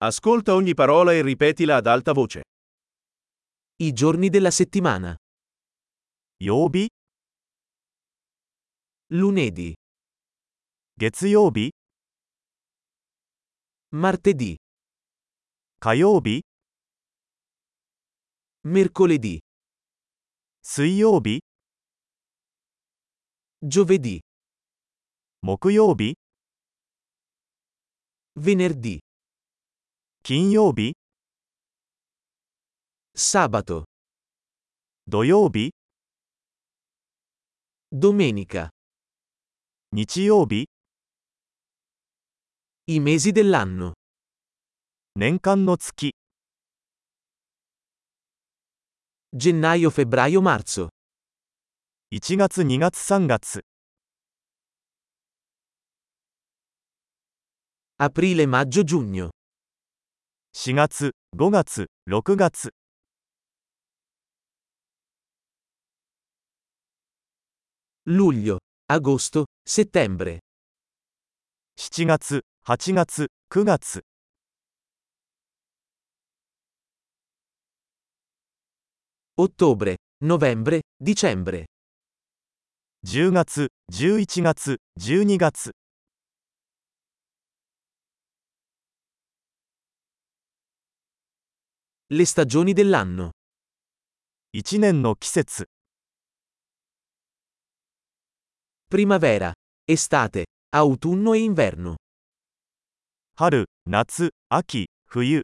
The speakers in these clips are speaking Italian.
Ascolta ogni parola e ripetila ad alta voce. I giorni della settimana. 曜日、 Lunedì, 月曜日、 martedì, 火曜日、 mercoledì, 水曜日、 giovedì, 木曜日、 venerdì, 金曜日、 sabato, 土曜日、 domenica. 日曜日、 I mesi dell'anno. 年間の月、 Gennaio, febbraio, marzo. 1月、2月、3月、 Aprile, maggio, giugno. 4月、5月、6月、 Luglio, agosto, settembre. 7月、8月、9月、 Ottobre, novembre, dicembre. 10月、11月、12月、 Le stagioni dell'anno. 1年の季節、 Primavera, estate, autunno e inverno. 春、夏、秋、冬。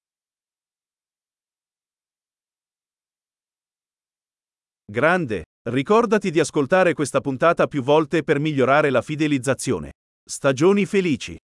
Grande, ricordati di ascoltare questa puntata più volte per migliorare la fidelizzazione. Stagioni felici.